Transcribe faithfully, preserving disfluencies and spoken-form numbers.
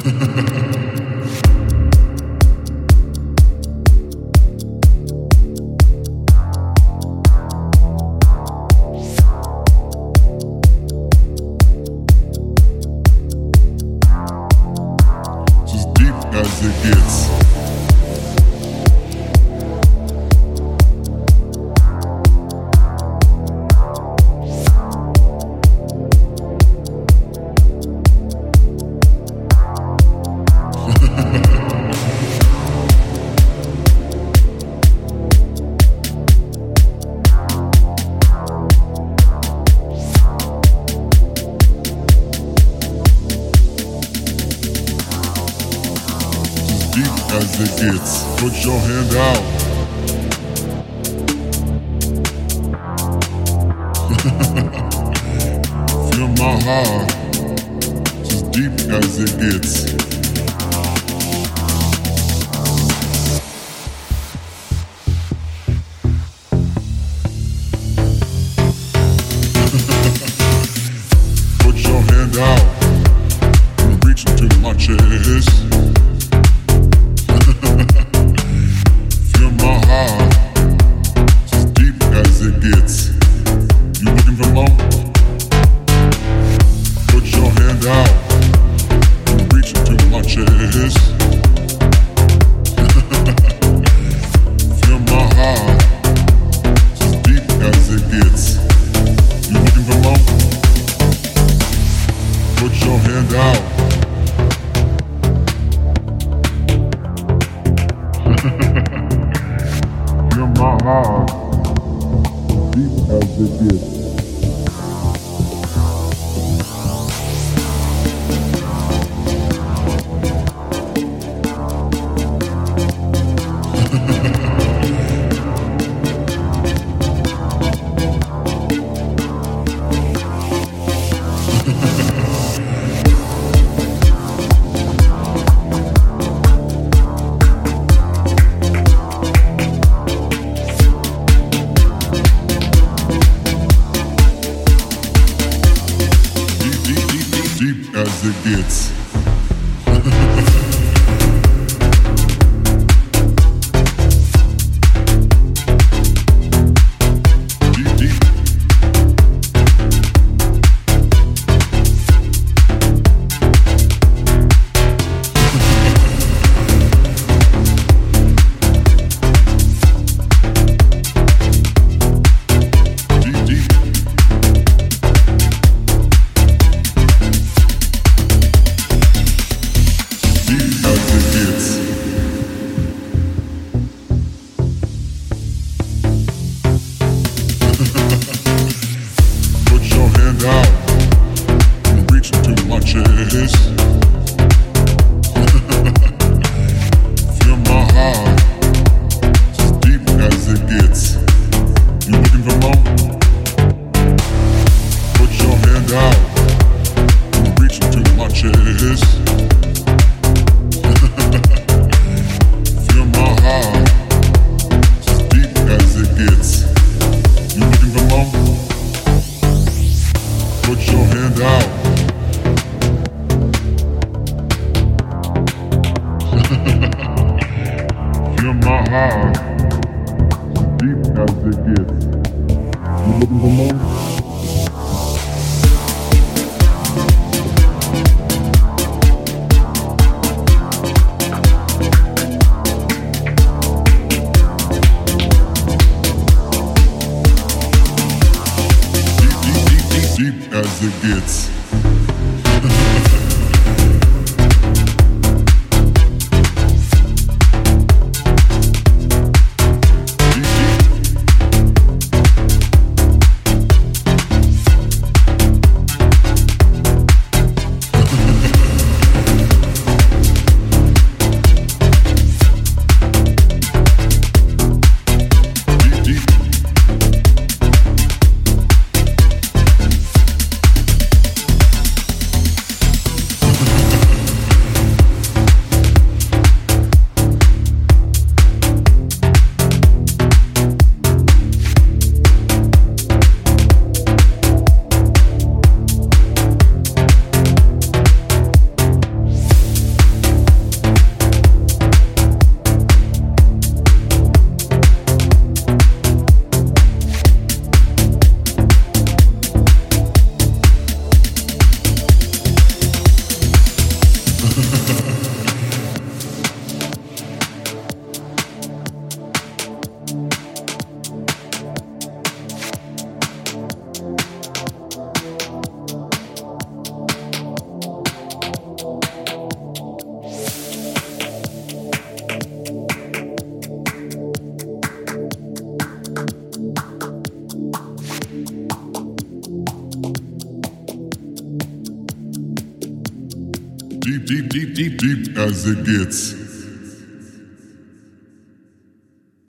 As it gets. As it gets, put your hand out. Feel my heart, as deep as it gets. Put your hand out and reach into my chest. Feel my heart, deep as it gets. Deep as it gets. Deep, deep. Out and reach into my chest. Feel my heart, as deep as it gets. You looking for more? Put your hand out and reach into my chest. Feel my heart, as deep as it gets. You looking for more? Put your hand out. Feel my heart, deep as it gets. You looking for more? Deep as it gets. deep, deep as it gets.